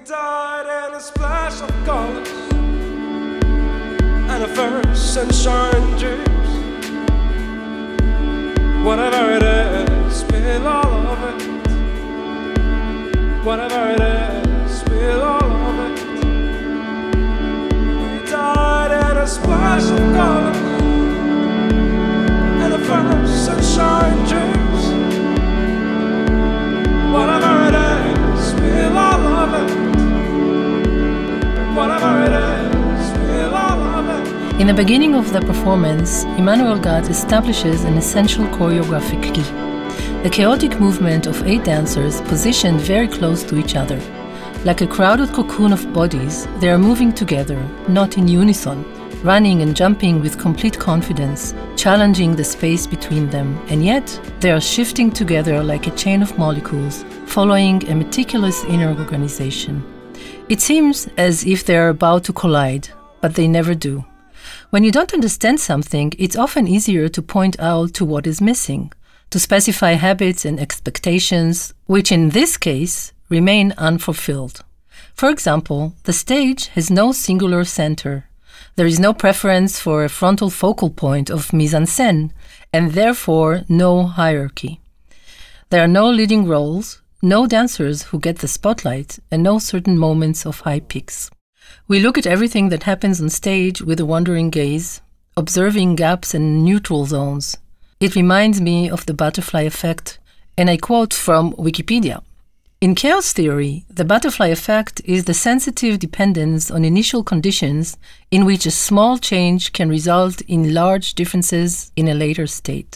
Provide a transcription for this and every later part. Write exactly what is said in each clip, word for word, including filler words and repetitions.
died in a splash of colors and a first sunshine juice. Whatever it is, spill all of it. Whatever it is, spill all of it. We died in a splash of colors and a first sunshine juice. Whatever it is, spill all of it. Whatever it is, spill all of it. In the beginning of the performance, Emmanuel Gat establishes an essential choreographic key. The chaotic movement of eight dancers positioned very close to each other. Like a crowded cocoon of bodies, they are moving together, not in unison, running and jumping with complete confidence, challenging the space between them, and yet they are shifting together like a chain of molecules, following a meticulous inner organization. It seems as if they are about to collide, but they never do. When you don't understand something, it's often easier to point out to what is missing, to specify habits and expectations, which in this case remain unfulfilled. For example, the stage has no singular center. There is no preference for a frontal focal point of mise-en-scène, and therefore no hierarchy. There are no leading roles, no dancers who get the spotlight, and no certain moments of high peaks. We look at everything that happens on stage with a wandering gaze, observing gaps and neutral zones. It reminds me of the butterfly effect, and I quote from Wikipedia. In chaos theory, the butterfly effect is the sensitive dependence on initial conditions in which a small change can result in large differences in a later state.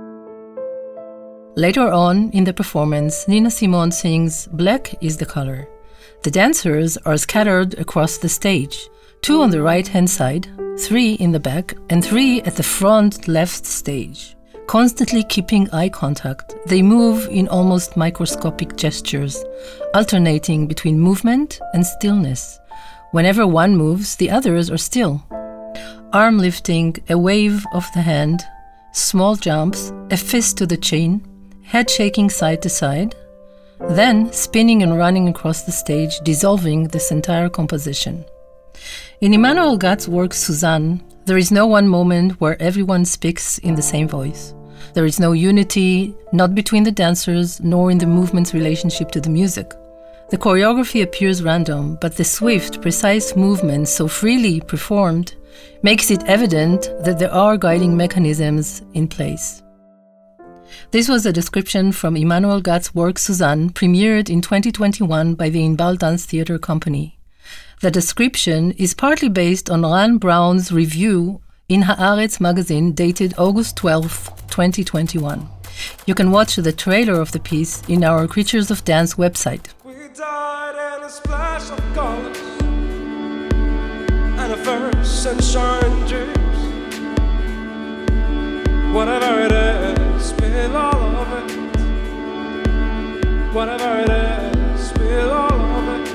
Later on in the performance, Nina Simone sings "Black is the color." The dancers are scattered across the stage, two on the right-hand side, three in the back, and three at the front left stage. Constantly keeping eye contact, they move in almost microscopic gestures, alternating between movement and stillness. Whenever one moves, the others are still. Arm lifting, a wave of the hand, small jumps, a fist to the chin, head shaking side to side, then spinning and running across the stage, dissolving this entire composition. In Emmanuel Gat's work Suzanne, there is no one moment where everyone speaks in the same voice. There is no unity, not between the dancers, nor in the movement's relationship to the music. The choreography appears random, but the swift, precise movements so freely performed makes it evident that there are guiding mechanisms in place. This was a description from Emmanuel Gat's work Suzanne, premiered in twenty twenty-one by the Inbal Dance Theatre Company. The description is partly based on Ran Brown's review in Haaretz magazine dated August twelfth, twenty twenty-one. You can watch the trailer of the piece in our Creatures of Dance website. We died in a splash of colors and a first sunshine juice. Whatever it is, spill all of it. Whatever it is, spill all of it.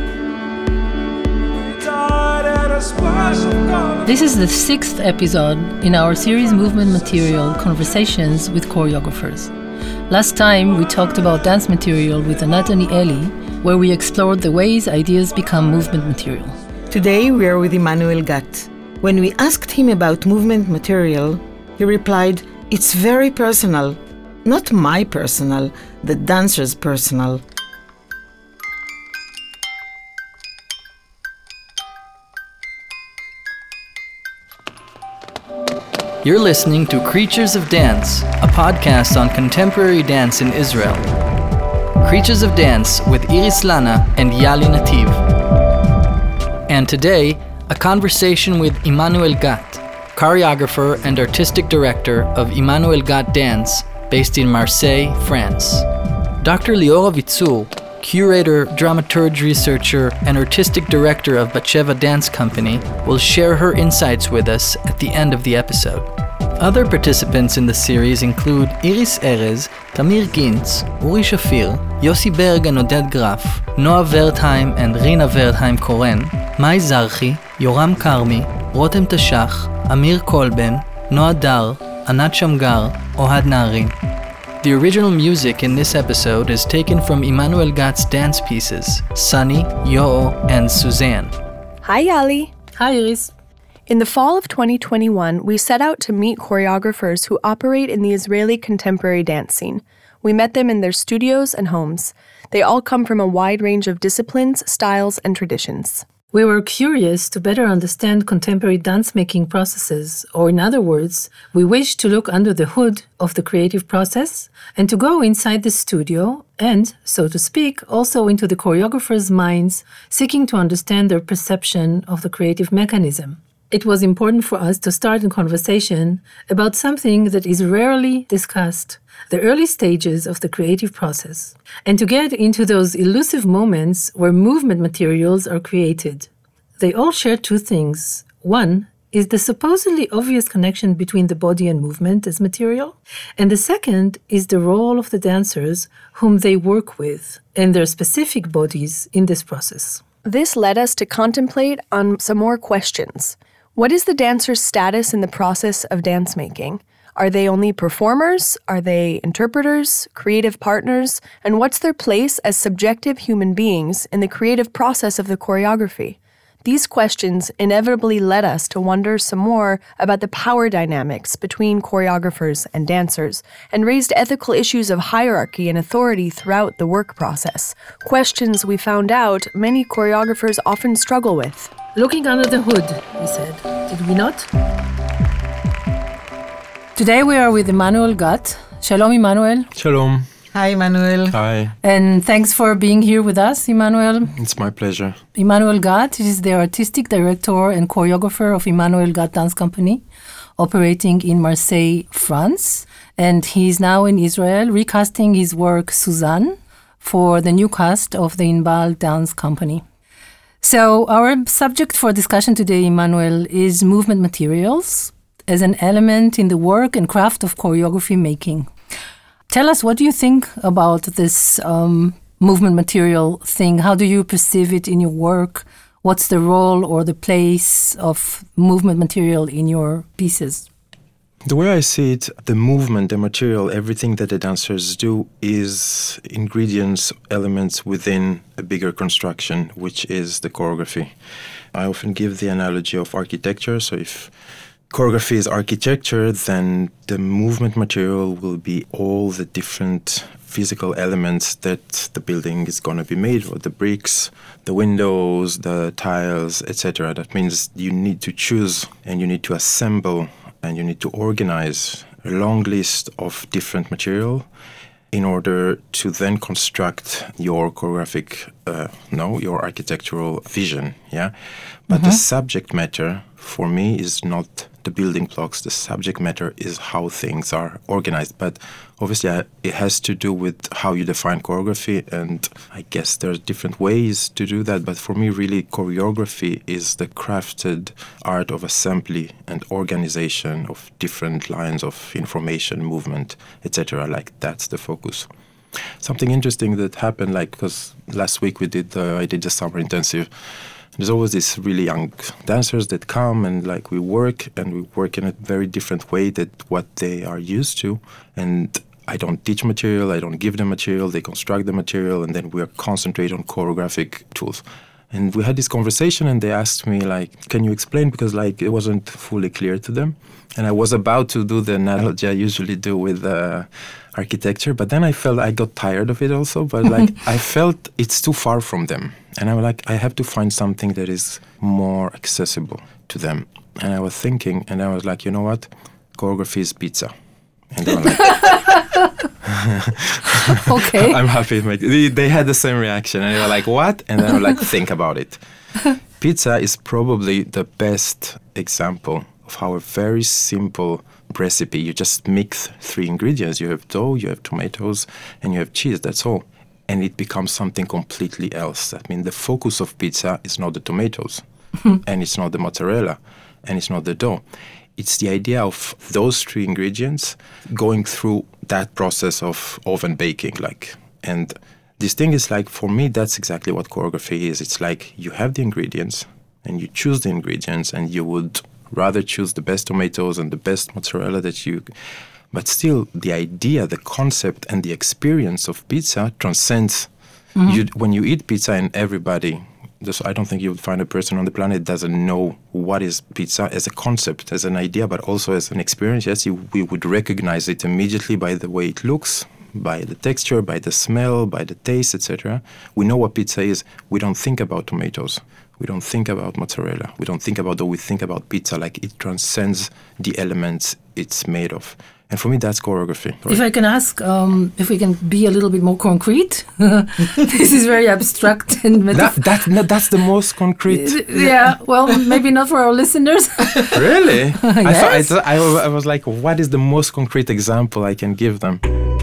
We died in a splash of colors. This is the sixth episode in our series Movement Material Conversations with Choreographers. Last time we talked about dance material with Anat Danieli, where we explored the ways ideas become movement material. Today we are with Emmanuel Gat. When we asked him about movement material, he replied, "It's very personal. Not my personal, the dancer's personal." You're listening to Creatures of Dance, a podcast on contemporary dance in Israel. Creatures of Dance with Iris Lana and Yali Nativ. And today, a conversation with Emmanuel Gat, choreographer and artistic director of Emmanuel Gat Dance, based in Marseille, France. Doctor Liora Vitzur, curator, dramaturge, researcher, and artistic director of Batsheva Dance Company, will share her insights with us at the end of the episode. Other participants in the series include Iris Erez, Tamir Gintz, Uri Shafir, Yossi Berg and Oded Graf, Noah Wertheim and Rina Wertheim-Koren, Mai Zarchi, Yoram Karmi, Rotem Tashach, Amir Kolben, Noah Dar, Anat Shamgar, Ohad Naharin. The original music in this episode is taken from Emmanuel Gatz's dance pieces, Sunny, Yo'o, and Suzanne. Hi, Yali. Hi, Iris. In the fall of twenty twenty-one, we set out to meet choreographers who operate in the Israeli contemporary dance scene. We met them in their studios and homes. They all come from a wide range of disciplines, styles, and traditions. We were curious to better understand contemporary dance-making processes, or in other words, we wished to look under the hood of the creative process and to go inside the studio and, so to speak, also into the choreographers' minds, seeking to understand their perception of the creative mechanism. It was important for us to start a conversation about something that is rarely discussed, the early stages of the creative process, and to get into those elusive moments where movement materials are created. They all share two things. One is the supposedly obvious connection between the body and movement as material, and the second is the role of the dancers whom they work with and their specific bodies in this process. This led us to contemplate on some more questions. What is the dancer's status in the process of dance making? Are they only performers? Are they interpreters, creative partners? And what's their place as subjective human beings in the creative process of the choreography? These questions inevitably led us to wonder some more about the power dynamics between choreographers and dancers, and raised ethical issues of hierarchy and authority throughout the work process, questions we found out many choreographers often struggle with. Looking under the hood, we said, did we not? Today we are with Emmanuel Gat. Shalom, Emmanuel. Shalom. Hi, Emmanuel. Hi. And thanks for being here with us, Emmanuel. It's my pleasure. Emmanuel Gat is the artistic director and choreographer of Emmanuel Gat Dance Company, operating in Marseille, France. And he is now in Israel, recasting his work Suzanne for the new cast of the Inbal Dance Company. So our subject for discussion today, Emmanuel, is movement materials as an element in the work and craft of choreography making. Tell us, what do you think about this um, movement material thing? How do you perceive it in your work? What's the role or the place of movement material in your pieces? The way I see it, the movement, the material, everything that the dancers do is ingredients, elements within a bigger construction, which is the choreography. I often give the analogy of architecture. So if choreography is architecture, then the movement material will be all the different physical elements that the building is going to be made of, the bricks, the windows, the tiles, et cetera. That means you need to choose and you need to assemble and you need to organize a long list of different material in order to then construct your choreographic, uh, no, your architectural vision, yeah? But mm-hmm. the subject matter, for me, is not the building blocks. The subject matter is how things are organized. But obviously, I, it has to do with how you define choreography, and I guess there's different ways to do that. But for me, really, choreography is the crafted art of assembly and organization of different lines of information, movement, et cetera. Like, that's the focus. Something interesting that happened, like, because last week we did, uh, I did the summer intensive. There's always these really young dancers that come and like we work and we work in a very different way than what they are used to. And I don't teach material, I don't give them material, they construct the material, and then we are concentrate on choreographic tools. And we had this conversation and they asked me like, can you explain? Because like it wasn't fully clear to them. And I was about to do the analogy I usually do with uh, architecture, but then I felt I got tired of it also, but like I felt it's too far from them. And I was like, I have to find something that is more accessible to them. And I was thinking, and I was like, you know what? Choreography is pizza. And they were like, okay. I'm happy. They, they had the same reaction. And they were like, what? And then I was like, think about it. Pizza is probably the best example of how a very simple recipe, you just mix three ingredients. You have dough, you have tomatoes, and you have cheese. That's all. And it becomes something completely else. I mean, the focus of pizza is not the tomatoes, and it's not the mozzarella, and it's not the dough. It's the idea of those three ingredients going through that process of oven baking. Like, and this thing is like, for me, that's exactly what choreography is. It's like you have the ingredients, and you choose the ingredients, and you would rather choose the best tomatoes and the best mozzarella that you... But still, the idea, the concept, and the experience of pizza transcends. Mm-hmm. You, when you eat pizza, and everybody, just, I don't think you'll find a person on the planet that doesn't know what is pizza as a concept, as an idea, but also as an experience. Yes, you, we would recognize it immediately by the way it looks, by the texture, by the smell, by the taste, et cetera. We know what pizza is. We don't think about tomatoes. We don't think about mozzarella. We don't think about, though we think about pizza, like it transcends the elements it's made of. And for me, that's choreography. Right? If I can ask, um, if we can be a little bit more concrete, this is very abstract and metaph- that, that, no, that's the most concrete. Yeah, well, maybe not for our listeners. Really? Yes. I, thought, I, thought, I, I was like, what is the most concrete example I can give them?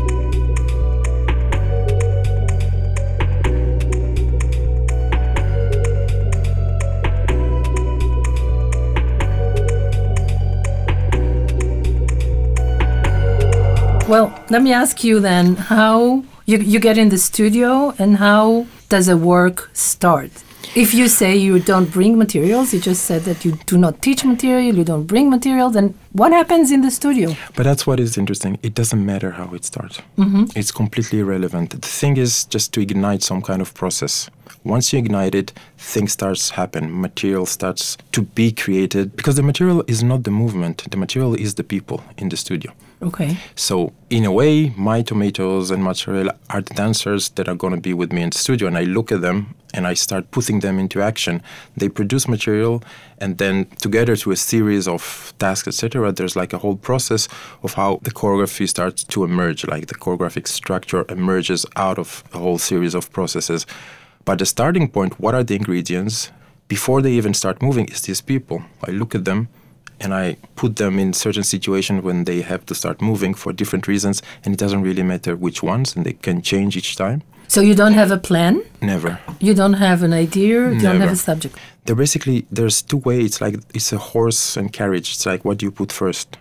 Well, let me ask you then, how you, you get in the studio and how does a work start? If you say you don't bring materials, you just said that you do not teach material, you don't bring material, then what happens in the studio? But that's what is interesting. It doesn't matter how it starts. Mm-hmm. It's completely irrelevant. The thing is just to ignite some kind of process. Once you ignite it, things starts happen. Material starts to be created because the material is not the movement. The material is the people in the studio. Okay. So in a way, my tomatoes and mozzarella are the dancers that are going to be with me in the studio. And I look at them and I start putting them into action. They produce material, and then together through a series of tasks, et cetera, there's like a whole process of how the choreography starts to emerge, like the choreographic structure emerges out of a whole series of processes. But the starting point, what are the ingredients? Before they even start moving, is these people. I look at them and I put them in certain situations when they have to start moving for different reasons, and it doesn't really matter which ones, and they can change each time. So you don't have a plan? Never. You don't have an idea? You Never. don't have a subject? They're basically, there's two ways. It's like, it's a horse and carriage. It's like, what do you put first?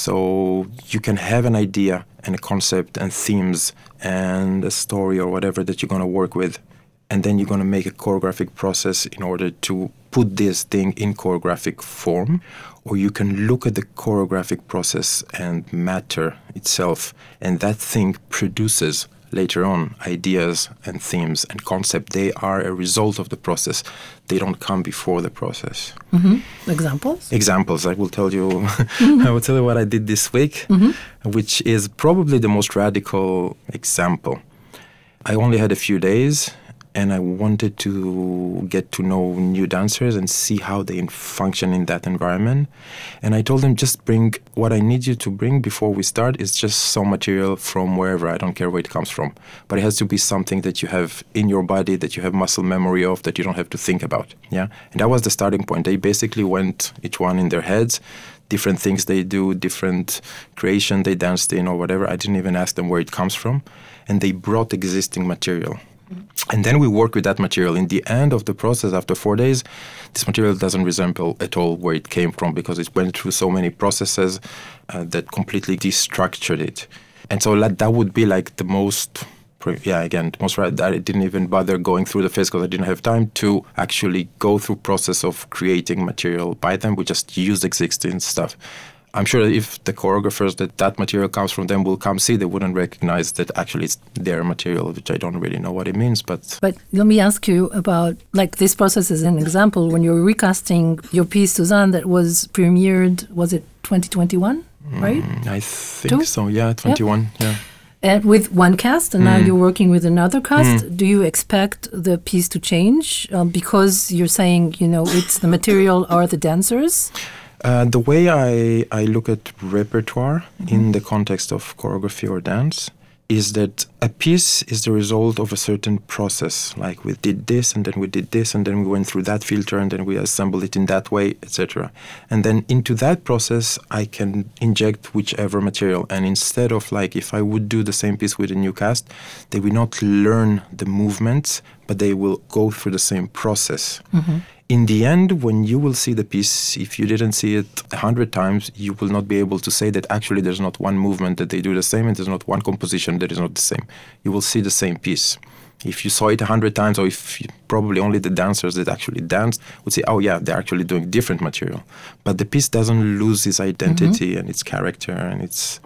So you can have an idea and a concept and themes and a story or whatever that you're going to work with. And then you're going to make a choreographic process in order to put this thing in choreographic form. Or you can look at the choreographic process and matter itself. And that thing produces later on ideas and themes and concept. They are a result of the process. They don't come before the process. Mm-hmm. Examples? Examples. I will tell you mm-hmm. I will tell you what I did this week, mm-hmm. which is probably the most radical example. I only had a few days, and I wanted to get to know new dancers and see how they function in that environment. And I told them, just bring what I need you to bring before we start is just some material from wherever. I don't care where it comes from. But it has to be something that you have in your body, that you have muscle memory of, that you don't have to think about. Yeah, and that was the starting point. They basically went, each one in their heads, different things they do, different creation they danced in or whatever. I didn't even ask them where it comes from. And they brought existing material. And then we work with that material. In the end of the process, after four days, this material doesn't resemble at all where it came from because it went through so many processes uh, that completely destructured it. And so that, that would be like the most, yeah, again, the most right. That I didn't even bother going through the phase because I didn't have time to actually go through process of creating material by them. We just used existing stuff. I'm sure if the choreographers that that material comes from them will come see, they wouldn't recognize that actually it's their material, which I don't really know what it means. But but let me ask you about, like, this process as an example. When you're recasting your piece, Suzanne, that was premiered, was it twenty twenty-one, right? Mm, I think Two? so, yeah, twenty-one, yeah. yeah. And with one cast, and mm. now you're working with another cast. Mm. Do you expect the piece to change um, because you're saying, you know, it's the material or the dancers? Uh, the way I, I look at repertoire mm-hmm. in the context of choreography or dance is that a piece is the result of a certain process. Like we did this, and then we did this, and then we went through that filter, and then we assembled it in that way, et cetera. And then into that process, I can inject whichever material. And instead of, like, if I would do the same piece with a new cast, they will not learn the movements, but they will go through the same process. Mm-hmm. In the end, when you will see the piece, if you didn't see it a hundred times, you will not be able to say that actually there's not one movement that they do the same and there's not one composition that is not the same. You will see the same piece. If you saw it a hundred times, or if you, probably only the dancers that actually danced would say, oh yeah, they're actually doing different material. But the piece doesn't lose its identity mm-hmm. and its character and its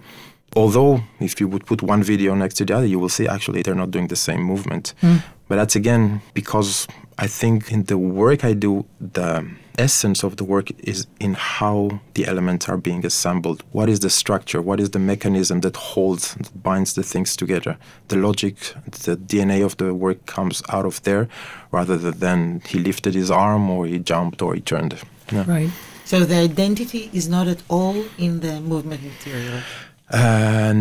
Although, if you would put one video next to the other, you will see actually they're not doing the same movement. Mm. But that's again because I think in the work I do, the essence of the work is in how the elements are being assembled. What is the structure? What is the mechanism that holds, that binds the things together? The logic, the D N A of the work comes out of there, rather than he lifted his arm or he jumped or he turned. Yeah. Right. So the identity is not at all in the movement material? Uh,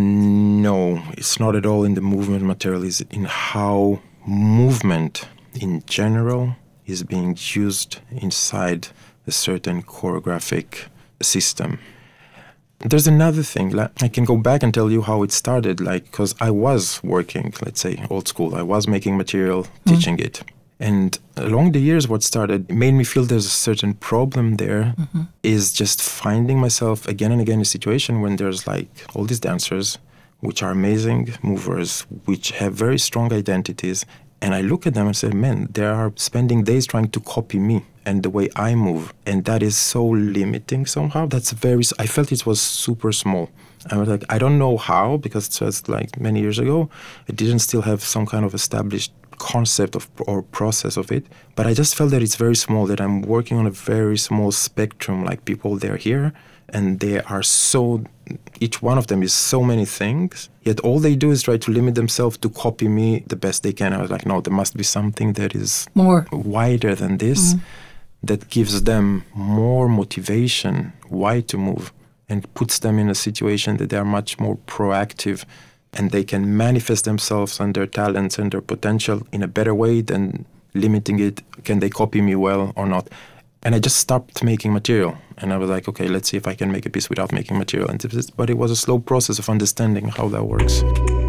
no, it's not at all in the movement material. It's in how movement in general is being used inside a certain choreographic system. There's another thing. Like, I can go back and tell you how it started, like, because I was working, let's say, old school. I was making material, teaching mm. it. And along the years, what started made me feel there's a certain problem there mm-hmm. is just finding myself again and again in a situation when there's like all these dancers, which are amazing movers, which have very strong identities. And I look at them and say, man, they are spending days trying to copy me and the way I move. And that is so limiting somehow. That's very, I felt it was super small. I was like, I don't know how, because it was like many years ago. I didn't still have some kind of established concept of or process of it. But I just felt that it's very small, that I'm working on a very small spectrum. Like people, they're here and they are so, each one of them is so many things. Yet all they do is try to limit themselves to copy me the best they can. I was like, no, there must be something that is more wider than this, mm-hmm. that gives them more motivation, why to move, and puts them in a situation that they are much more proactive and they can manifest themselves and their talents and their potential in a better way than limiting it. Can they copy me well or not? And I just stopped making material. And I was like, okay, let's see if I can make a piece without making material. And this, but it was a slow process of understanding how that works.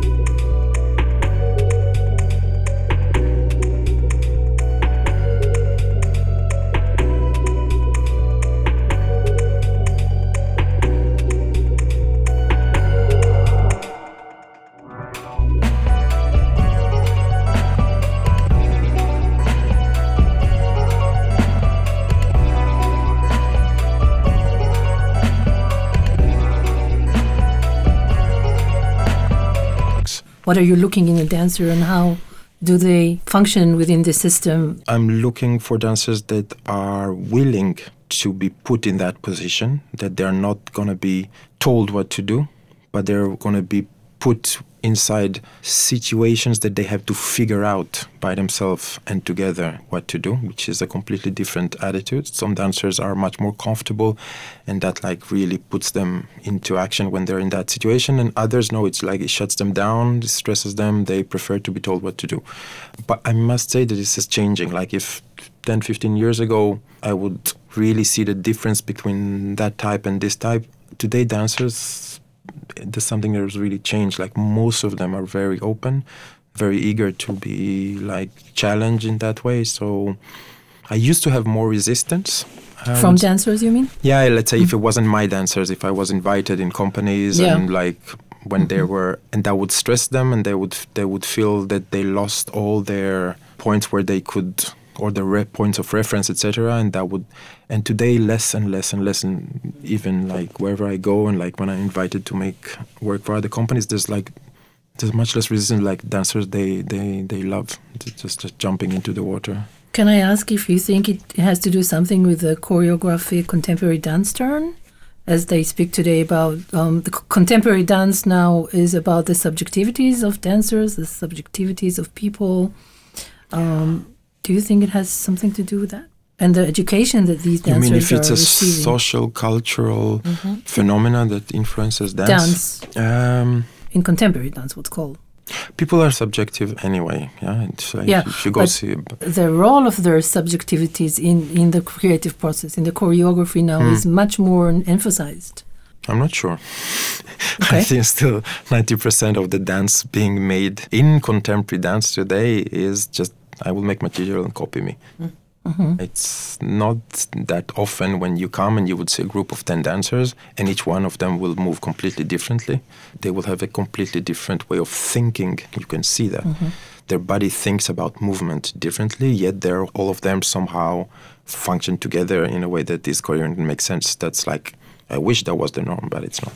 What are you looking in a dancer and how do they function within the system? I'm looking for dancers that are willing to be put in that position, that they're not going to be told what to do, but they're going to be put inside situations that they have to figure out by themselves and together what to do, which is a completely different attitude. Some dancers are much more comfortable and that like really puts them into action when they're in that situation, and others know it's like it shuts them down, it stresses them, they prefer to be told what to do. But I must say that this is changing. Like if ten, fifteen years ago I would really see the difference between that type and this type, today dancers, there's something that has really changed. Like most of them are very open, very eager to be like challenged in that way. So I used to have more resistance. Um, From dancers, you mean? Yeah, let's say mm-hmm. if it wasn't my dancers, if I was invited in companies yeah. and like when mm-hmm. they were, and that would stress them and they would they would feel that they lost all their points where they could, or the re- points of reference, et cetera. And that would, and today less and less and less, and even like wherever I go and like when I'm invited to make work for other companies, there's like there's much less resistance. Like dancers, they they they love just just jumping into the water. Can I ask if you think it has to do something with the choreographic contemporary dance turn, as they speak today about um, the c- contemporary dance now is about the subjectivities of dancers, the subjectivities of people. Um, Do you think it has something to do with that? And the education that these dancers are receiving? You mean if it's a receiving? social, cultural mm-hmm. phenomena that influences dance? Dance. Um, In contemporary dance, what's called? People are subjective anyway. Yeah, it's like yeah if you go but see the role of their subjectivities in, in the creative process, in the choreography now, hmm. is much more emphasized. I'm not sure. Okay. I think still ninety percent of the dance being made in contemporary dance today is just I will make material and copy me. Mm-hmm. It's not that often when you come and you would see a group of ten dancers and each one of them will move completely differently. They will have a completely different way of thinking. You can see that. Mm-hmm. Their body thinks about movement differently, yet they're all of them somehow function together in a way that is coherent and makes sense. That's like, I wish that was the norm, but it's not.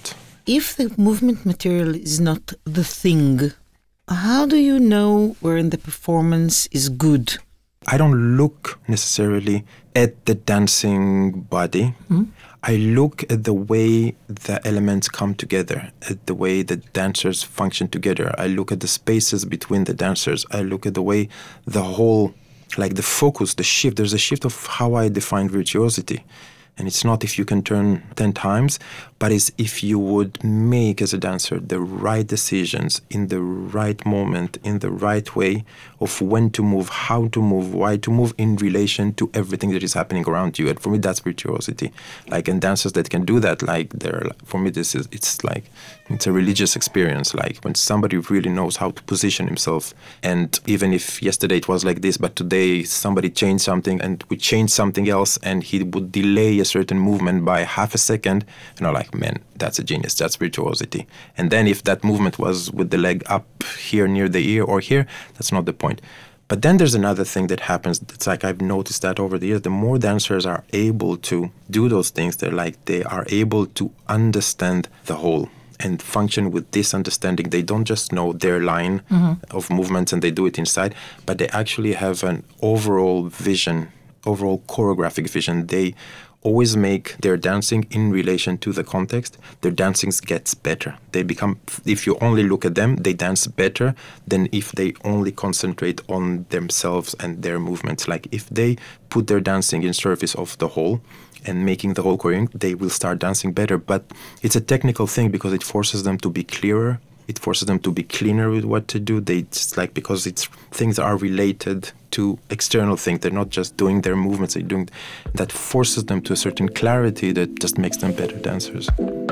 if the movement material is not the thing, how do you know when the performance is good? I don't look necessarily at the dancing body. Mm. I look at the way the elements come together, at the way the dancers function together. I look at the spaces between the dancers. I look at the way the whole, like the focus, the shift. There's a shift of how I define virtuosity. And it's not if you can turn ten times, but it's if you would make as a dancer the right decisions in the right moment, in the right way of when to move, how to move, why to move in relation to everything that is happening around you. And for me, that's virtuosity. Like, and dancers that can do that, like, they're, for me, this is, it's like, it's a religious experience. Like, when somebody really knows how to position himself. And even if yesterday it was like this, but today somebody changed something and we changed something else, and he would delay a certain movement by half a second, and I'm like, man, that's a genius, that's virtuosity. And then if that movement was with the leg up here near the ear or here, that's not the point. But then there's another thing that happens. It's like I've noticed that over the years, the more dancers are able to do those things, they're like, they are able to understand the whole and function with this understanding. They don't just know their line mm-hmm. of movements and they do it inside, but they actually have an overall vision, overall choreographic vision. They always make their dancing in relation to the context. Their dancing gets better. They become, if you only look at them, they dance better than if they only concentrate on themselves and their movements. Like, if they put their dancing in service of the whole and making the whole choreography, they will start dancing better. But it's a technical thing because it forces them to be clearer. It forces them to be cleaner with what to do. They just like, because it's things are related to external things. They're not just doing their movements. They're doing that forces them to a certain clarity that just makes them better dancers.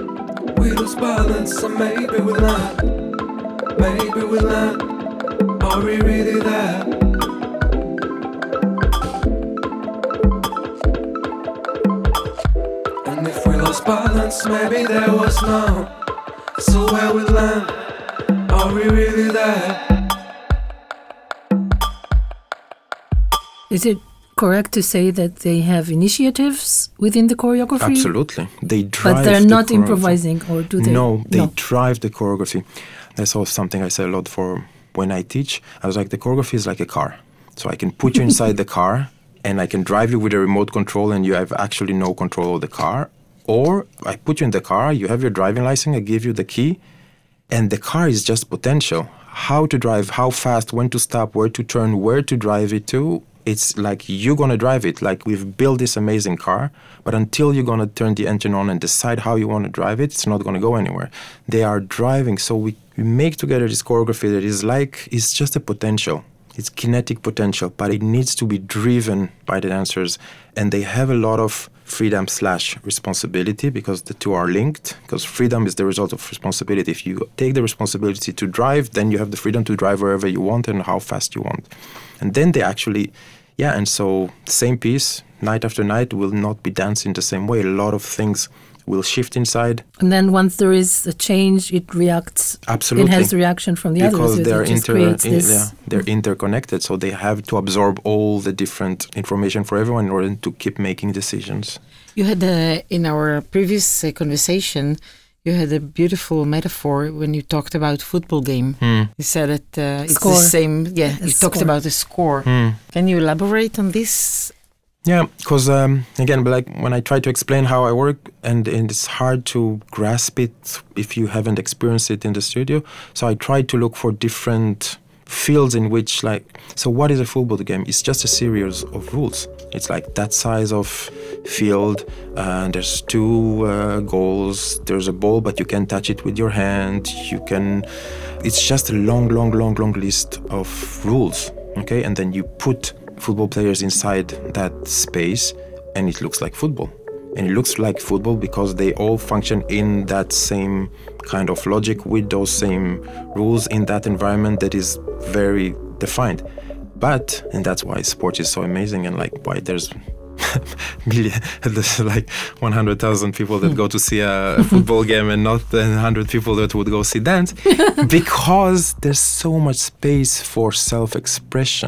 We lose balance, and maybe we learn. Maybe we learn. Are we really there? And if we lost balance, maybe there was none. So where we land, are we really there? Is it correct to say that they have initiatives within the choreography? Absolutely. They drive But they're the not improvising, or do they? No, they no. drive the choreography. That's also something I say a lot for when I teach. I was like, the choreography is like a car. So I can put you inside the car and I can drive you with a remote control and you have actually no control of the car. Or I put you in the car, you have your driving license, I give you the key, and the car is just potential. How to drive, how fast, when to stop, where to turn, where to drive it to. It's like you're going to drive it. Like, we've built this amazing car, but until you're going to turn the engine on and decide how you want to drive it, it's not going to go anywhere. They are driving. So we, we make together this choreography that is like, it's just a potential. It's kinetic potential, but it needs to be driven by the dancers. And they have a lot of freedom slash responsibility because the two are linked, because freedom is the result of responsibility. If you take the responsibility to drive, then you have the freedom to drive wherever you want and how fast you want. And then they actually, yeah, and so same piece, night after night, will not be dancing the same way. A lot of things will shift inside. And then once there is a change, it reacts. Absolutely. It has reaction from the because others. They're, it just inter- creates in, this. yeah, they're interconnected, so they have to absorb all the different information for everyone in order to keep making decisions. You had, a, in our previous uh, conversation, you had a beautiful metaphor when you talked about football game. Hmm. You said that uh, it's Score. the same. Yeah, A you talked score. about the score. Hmm. Can you elaborate on this? Yeah, because um, again, like when I try to explain how I work, and, and it's hard to grasp it if you haven't experienced it in the studio. So I try to look for different fields in which, like, so what is a football game? It's just a series of rules. It's like that size of field, uh, there's two uh, goals, there's a ball, but you can touch it with your hand, you can, it's just a long, long, long, long list of rules, okay? And then you put football players inside that space and it looks like football. And it looks like football because they all function in that same kind of logic with those same rules in that environment that is very defined. But, and that's why sport is so amazing and like why there's million, there's like one hundred thousand people that go to see a football game and not one hundred people that would go see dance, because there's so much space for self-expression.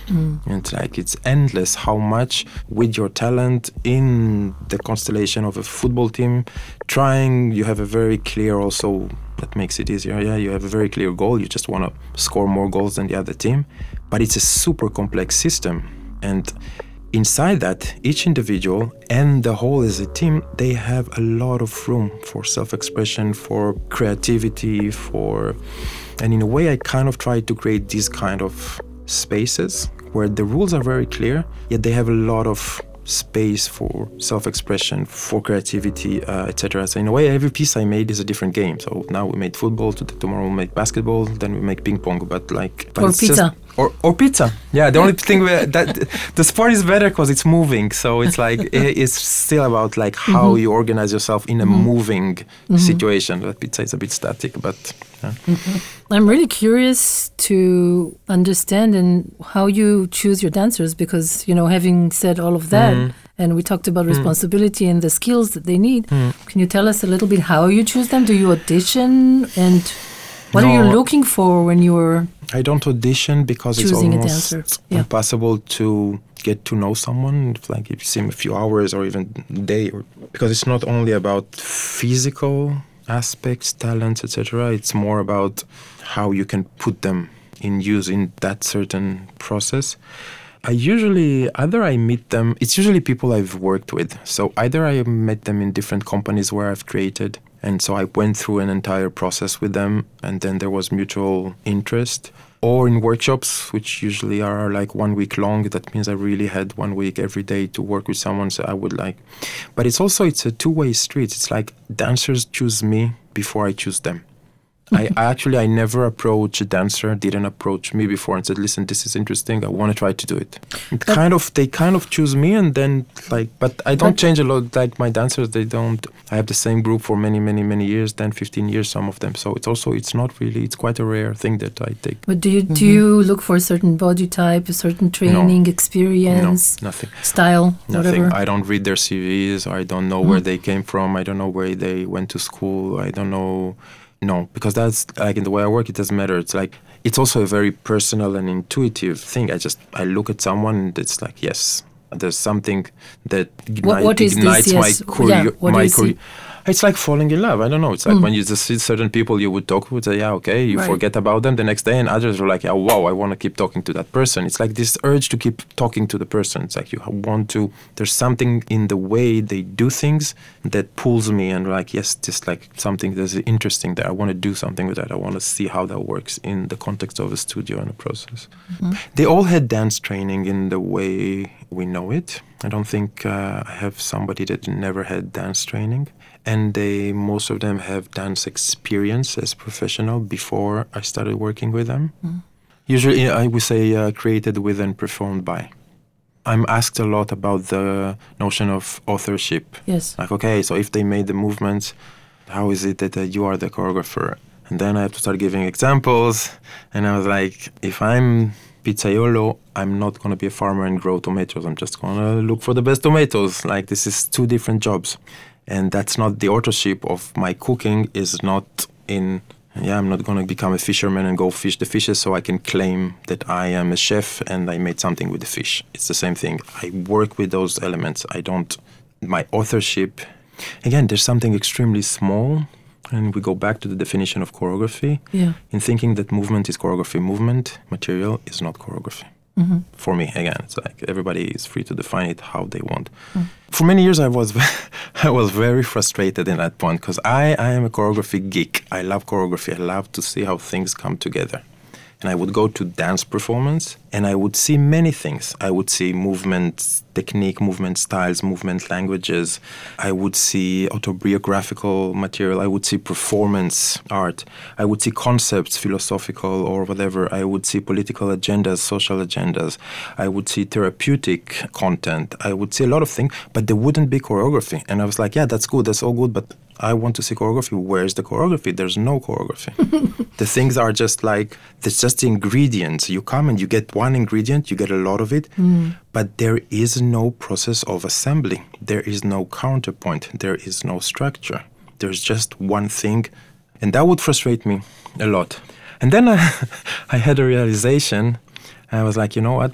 Mm. And it's like it's endless how much with your talent in the constellation of a football team, trying, you have a very clear also, that makes it easier, yeah, you have a very clear goal, you just want to score more goals than the other team, but it's a super complex system. And inside that, each individual and the whole as a team, they have a lot of room for self-expression, for creativity, for... And in a way, I kind of try to create these kind of spaces where the rules are very clear, yet they have a lot of space for self-expression, for creativity, uh, et cetera. So in a way, every piece I made is a different game. So now we made football, tomorrow we make basketball, then we make ping pong, but like... But or it's pizza. Just, or, or pizza. Yeah, the only thing where that the sport is better because it's moving. So it's like, it's still about like how mm-hmm. you organize yourself in a mm-hmm. moving mm-hmm. situation. But pizza is a bit static, but... Yeah. Mm-hmm. I'm really curious to understand and how you choose your dancers because, you know, having said all of that, mm. and we talked about mm. responsibility and the skills that they need, mm. can you tell us a little bit how you choose them? Do you audition? And what no, are you looking for when you're I don't audition because it's almost yeah. impossible to get to know someone, if, like if you see them a few hours or even a day, or, because it's not only about physical aspects, talents, et cetera. It's more about how you can put them in use in that certain process. I usually, either I meet them, it's usually people I've worked with. So either I met them in different companies where I've created, and so I went through an entire process with them, and then there was mutual interest. Or in workshops, which usually are like one week long. That means I really had one week every day to work with someone, so I would like... But it's also, it's a two-way street. It's like dancers choose me before I choose them. I, I actually, I never approach a dancer, didn't approach me before and said, listen, this is interesting, I want to try to do it. It but kind of, they kind of choose me and then like, but I don't change a lot, like my dancers, they don't, I have the same group for many, many, many years, ten, fifteen years, some of them. So it's also, it's not really, it's quite a rare thing that I take. But do you, mm-hmm. do you look for a certain body type, a certain training, no. experience? No, nothing. Style, nothing. whatever? I don't read their C Vs, I don't know mm-hmm. where they came from, I don't know where they went to school, I don't know... No, because that's like in the way I work, it doesn't matter. It's like, it's also a very personal and intuitive thing. I just, I look at someone and it's like, yes, there's something that ignite, what, what is ignites this? Yes. my career. Yeah, what my is career. it? It's like falling in love. I don't know. It's like mm. when you just see certain people you would talk with, say, yeah, okay, you right. forget about them the next day, and others are like, yeah, wow, I want to keep talking to that person. It's like this urge to keep talking to the person. It's like you want to, there's something in the way they do things that pulls me and like, yes, just like something that's interesting there. I want to do something with that. I want to see how that works in the context of a studio and a process. Mm-hmm. They all had dance training in the way we know it. I don't think uh, I have somebody that never had dance training. And they, most of them have dance experience as professional before I started working with them. Mm. Usually, I would say uh, created with and performed by. I'm asked a lot about the notion of authorship. Yes. Like, okay, so if they made the movements, how is it that uh, you are the choreographer? And then I have to start giving examples. And I was like, if I'm pizzaiolo, I'm not going to be a farmer and grow tomatoes. I'm just going to look for the best tomatoes. Like, this is two different jobs. And that's not the authorship of my cooking is not in, yeah, I'm not going to become a fisherman and go fish the fishes so I can claim that I am a chef and I made something with the fish. It's the same thing. I work with those elements. I don't, my authorship, again, there's something extremely small. And we go back to the definition of choreography. Yeah. In thinking that movement is choreography. Movement, material is not choreography. Mm-hmm. For me, again, it's like everybody is free to define it how they want. Mm. For many years, I was I was very frustrated in that point because I, I am a choreography geek. I love choreography. I love to see how things come together. And I would go to dance performance and I would see many things. I would see movement technique, movement styles, movement languages. I would see autobiographical material. I would see performance art. I would see concepts, philosophical or whatever. I would see political agendas, social agendas. I would see therapeutic content. I would see a lot of things, but there wouldn't be choreography. And I was like, yeah, that's good. That's all good. But I want to see choreography. Where's the choreography? There's no choreography. The things are just like, there's just the ingredients. You come and you get one ingredient, you get a lot of it, mm. but there is no process of assembly. There is no counterpoint. There is no structure. There's just one thing. And that would frustrate me a lot. And then I, I had a realization. I was like, you know what?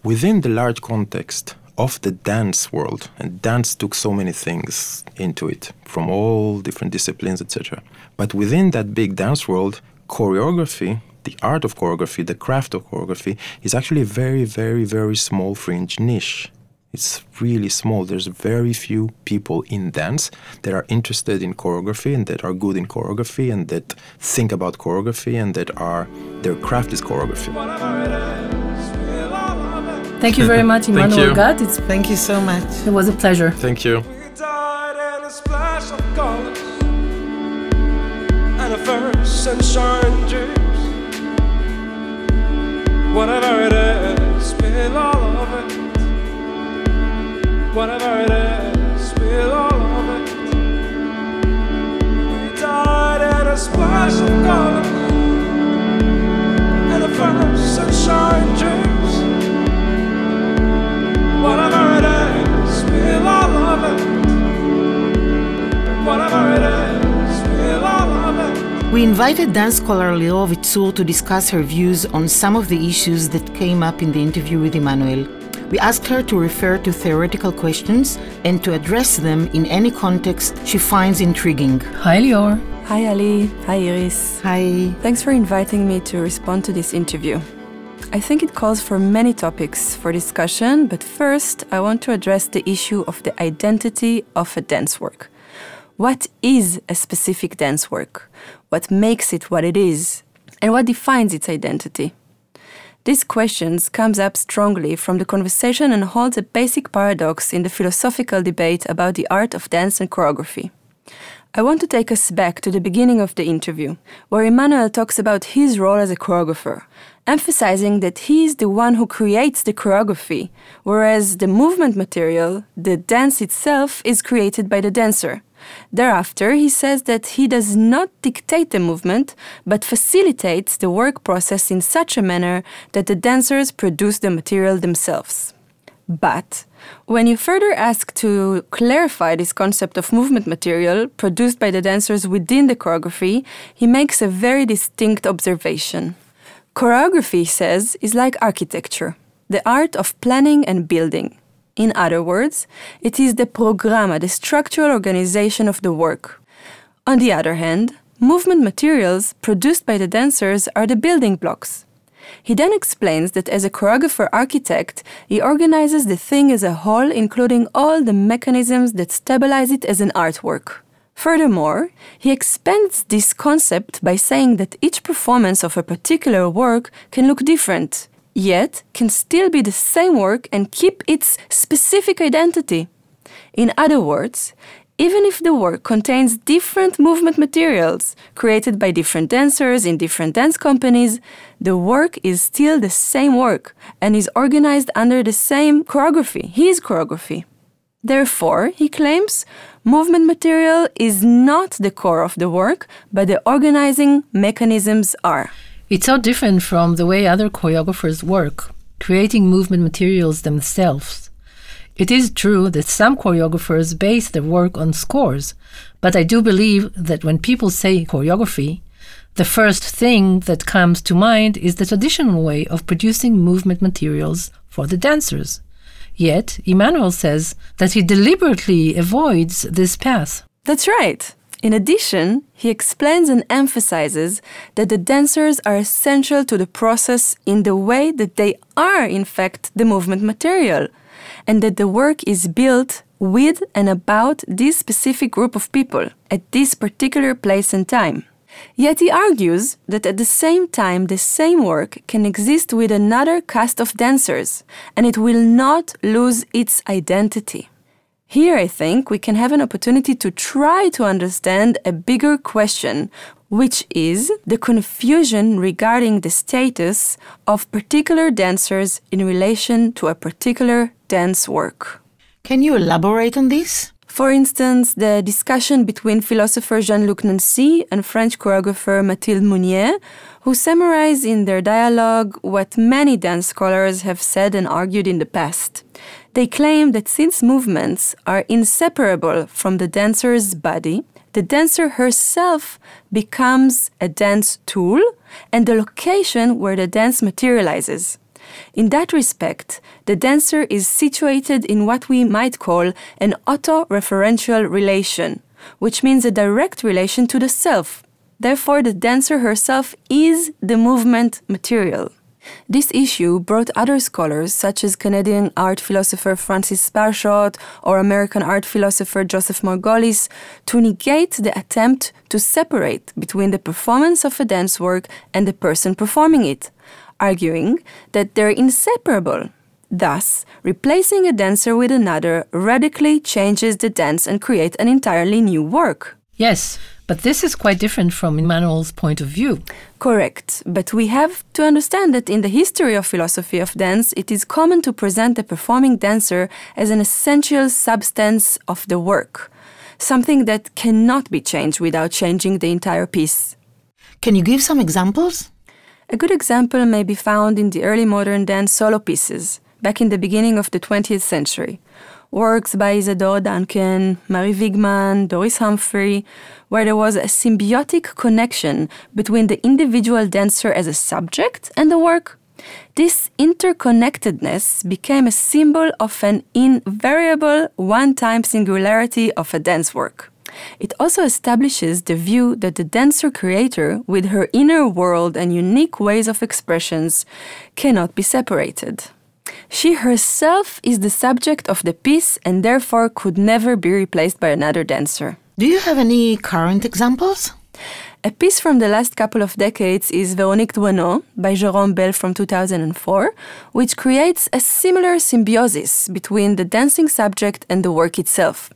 within the large context of the dance world, and dance took so many things into it, from all different disciplines, et cetera. But within that big dance world, choreography, the art of choreography, the craft of choreography, is actually a very, very, very small fringe niche. It's really small. There's very few people in dance that are interested in choreography and that are good in choreography and that think about choreography and that are, their craft is choreography. Thank you very much, Emmanuel Gat. It's, Thank you so much. it was a pleasure. Thank you. We died in a splash of colors and a first sunshine dreams. Whatever it is, spill all of it. Whatever it is, spill all of it. We died in a splash of colors and a first sunshine dreams. Whatever it is, spill all of it. Whatever it is, spill all of it. We invited dance scholar Lior Vitzur to discuss her views on some of the issues that came up in the interview with Emmanuel. We asked her to refer to theoretical questions and to address them in any context she finds intriguing. Hi, Lior. Hi Ali, hi Iris. Hi. Thanks for inviting me to respond to this interview. I think it calls for many topics for discussion, but first I want to address the issue of the identity of a dance work. What is a specific dance work? What makes it what it is? And what defines its identity? These questions comes up strongly from the conversation and holds a basic paradox in the philosophical debate about the art of dance and choreography. I want to take us back to the beginning of the interview, where Emmanuel talks about his role as a choreographer, emphasizing that he is the one who creates the choreography, whereas the movement material, the dance itself, is created by the dancer. Thereafter, he says that he does not dictate the movement, but facilitates the work process in such a manner that the dancers produce the material themselves. But when you further ask to clarify this concept of movement material produced by the dancers within the choreography, he makes a very distinct observation. Choreography, he says, is like architecture, the art of planning and building. In other words, it is the programma, the structural organization of the work. On the other hand, movement materials produced by the dancers are the building blocks. He then explains that as a choreographer-architect, he organizes the thing as a whole, including all the mechanisms that stabilize it as an artwork. Furthermore, he expands this concept by saying that each performance of a particular work can look different, yet can still be the same work and keep its specific identity. In other words, even if the work contains different movement materials created by different dancers in different dance companies, the work is still the same work and is organized under the same choreography, his choreography. Therefore, he claims, movement material is not the core of the work, but the organizing mechanisms are. It's so different from the way other choreographers work, creating movement materials themselves. It is true that some choreographers base their work on scores, but I do believe that when people say choreography, the first thing that comes to mind is the traditional way of producing movement materials for the dancers. Yet, Emmanuel says that he deliberately avoids this path. That's right. In addition, he explains and emphasizes that the dancers are essential to the process in the way that they are, in fact, the movement material, and that the work is built with and about this specific group of people at this particular place and time. Yet he argues that at the same time the same work can exist with another cast of dancers, and it will not lose its identity. Here I think we can have an opportunity to try to understand a bigger question, which is the confusion regarding the status of particular dancers in relation to a particular dance work. Can you elaborate on this? For instance, the discussion between philosopher Jean-Luc Nancy and French choreographer Mathilde Mounier, who summarize in their dialogue what many dance scholars have said and argued in the past. They claim that since movements are inseparable from the dancer's body, the dancer herself becomes a dance tool and the location where the dance materializes. In that respect, the dancer is situated in what we might call an auto-referential relation, which means a direct relation to the self. Therefore, the dancer herself is the movement material. This issue brought other scholars, such as Canadian art philosopher Francis Bashot or American art philosopher Joseph Margolis, to negate the attempt to separate between the performance of a dance work and the person performing it, arguing that they're inseparable. Thus, replacing a dancer with another radically changes the dance and creates an entirely new work. Yes, but this is quite different from Immanuel's point of view. Correct, but we have to understand that in the history of philosophy of dance, it is common to present the performing dancer as an essential substance of the work, something that cannot be changed without changing the entire piece. Can you give some examples? A good example may be found in the early modern dance solo pieces, back in the beginning of the twentieth century. Works by Isadora Duncan, Mary Wigman, Doris Humphrey, where there was a symbiotic connection between the individual dancer as a subject and the work. This interconnectedness became a symbol of an invariable one-time singularity of a dance work. It also establishes the view that the dancer-creator, with her inner world and unique ways of expressions, cannot be separated. She herself is the subject of the piece and therefore could never be replaced by another dancer. Do you have any current examples? A piece from the last couple of decades is Véronique Douaneau by Jérôme Bel from two thousand four, which creates a similar symbiosis between the dancing subject and the work itself.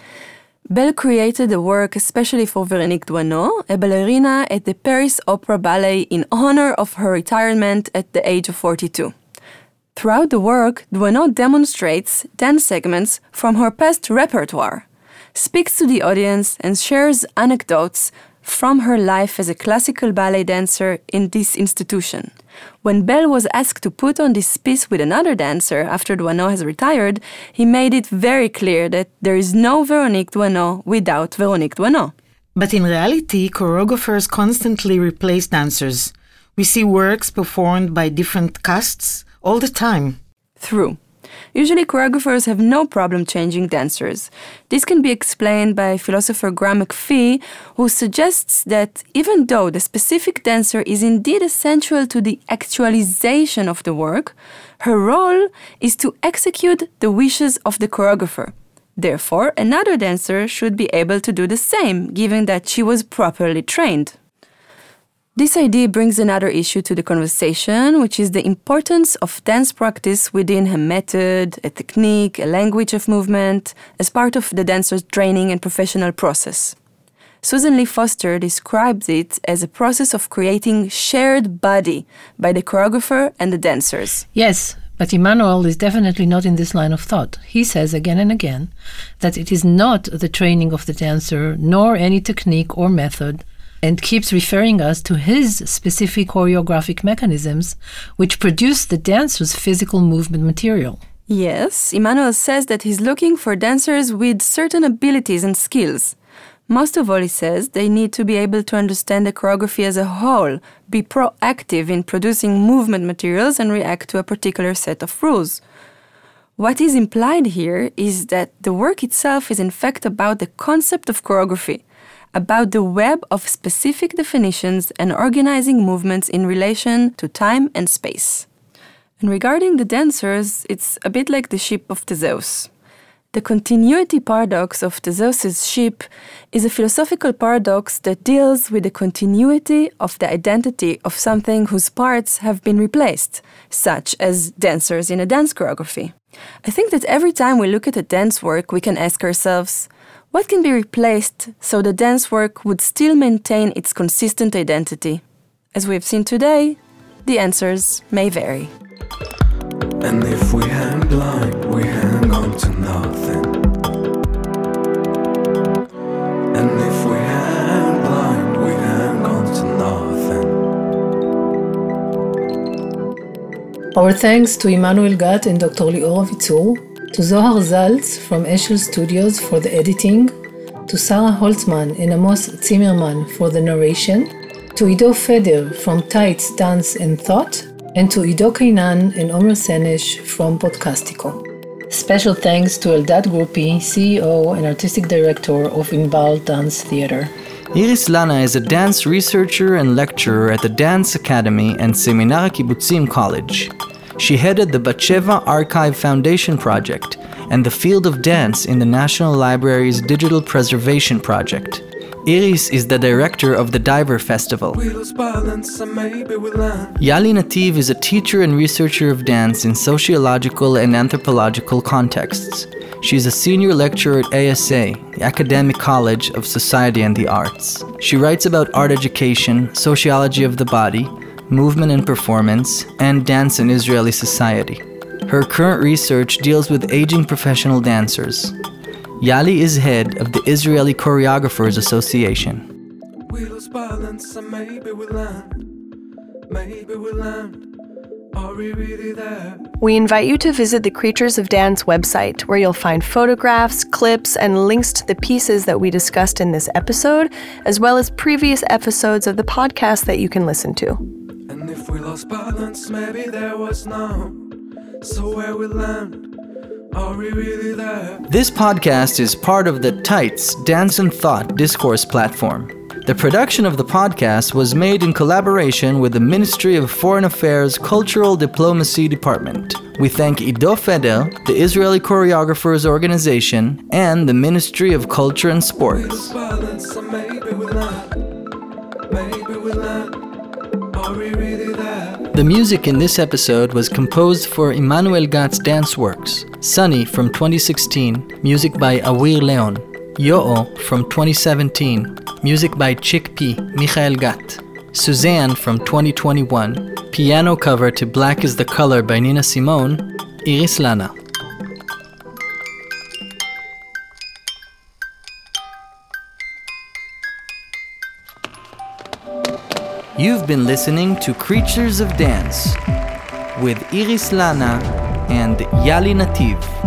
Bel created the work especially for Véronique Douaneau, a ballerina at the Paris Opera Ballet in honor of her retirement at the age of forty-two. Throughout the work, Douaneau demonstrates dance segments from her past repertoire, speaks to the audience, and shares anecdotes from her life as a classical ballet dancer in this institution. When Bel was asked to put on this piece with another dancer after Douaneau has retired, he made it very clear that there is no Véronique Douaneau without Véronique Douaneau. But in reality, choreographers constantly replace dancers. We see works performed by different casts all the time. True. Usually choreographers have no problem changing dancers. This can be explained by philosopher Graham McPhee, who suggests that even though the specific dancer is indeed essential to the actualization of the work, her role is to execute the wishes of the choreographer. Therefore, another dancer should be able to do the same, given that she was properly trained. This idea brings another issue to the conversation, which is the importance of dance practice within a method, a technique, a language of movement, as part of the dancer's training and professional process. Susan Lee Foster describes it as a process of creating shared body by the choreographer and the dancers. Yes, but Immanuel is definitely not in this line of thought. He says again and again that it is not the training of the dancer, nor any technique or method, and keeps referring us to his specific choreographic mechanisms which produce the dancer's physical movement material. Yes, Immanuel says that he's looking for dancers with certain abilities and skills. Most of all, he says, they need to be able to understand the choreography as a whole, be proactive in producing movement materials and react to a particular set of rules. What is implied here is that the work itself is in fact about the concept of choreography, about the web of specific definitions and organizing movements in relation to time and space. And regarding the dancers, it's a bit like the ship of Theseus. The continuity paradox of Theseus' ship is a philosophical paradox that deals with the continuity of the identity of something whose parts have been replaced, such as dancers in a dance choreography. I think that every time we look at a dance work, we can ask ourselves, what can be replaced so the dance work would still maintain its consistent identity? As we have seen today, the answers may vary. And if we hang blind, we hang on to nothing. And if we hang blind, we hang on to nothing. Our thanks to Immanuel Gat and Doctor Lior Avitzur, to Zohar Zaltz from Eshel Studios for the editing, to Sarah Holtzman and Amos Zimmerman for the narration, to Ido Feder from Tights, Dance and Thought, and to Ido Kainan and Omer Senesh from Podcastico. Special thanks to Eldad Grupi, C E O and Artistic Director of Inbal Dance Theater. Iris Lana is a dance researcher and lecturer at the Dance Academy and Seminar Kibbutzim College. She headed the Batsheva Archive Foundation Project and the Field of Dance in the National Library's Digital Preservation Project. Iris is the director of the Diver Festival. Yali Nativ is a teacher and researcher of dance in sociological and anthropological contexts. She is a senior lecturer at A S A, the Academic College of Society and the Arts. She writes about art education, sociology of the body, movement and performance, and dance in Israeli society. Her current research deals with aging professional dancers. Yali is head of the Israeli Choreographers Association. We lose balance and maybe we land. Maybe we land. Are we really there? We invite you to visit the Creatures of Dance website, where you'll find photographs, clips, and links to the pieces that we discussed in this episode, as well as previous episodes of the podcast that you can listen to. And if we lost balance, maybe there was no. So where we land. Are we really there? This podcast is part of the Tights Dance and Thought discourse platform. The production of the podcast was made in collaboration with the Ministry of Foreign Affairs Cultural Diplomacy Department. We thank Ido Feder, the Israeli Choreographers Organization, and the Ministry of Culture and Sports. The music in this episode was composed for Emmanuel Gatz Dance Works. Sunny from twenty sixteen, music by Awir Leon. Yo'o from twenty seventeen, music by Chickpea, Michael Gat. Suzanne from twenty twenty-one, piano cover to Black is the Color by Nina Simone, Iris Lana. You've been listening to Creatures of Dance with Iris Lana and Yali Nativ.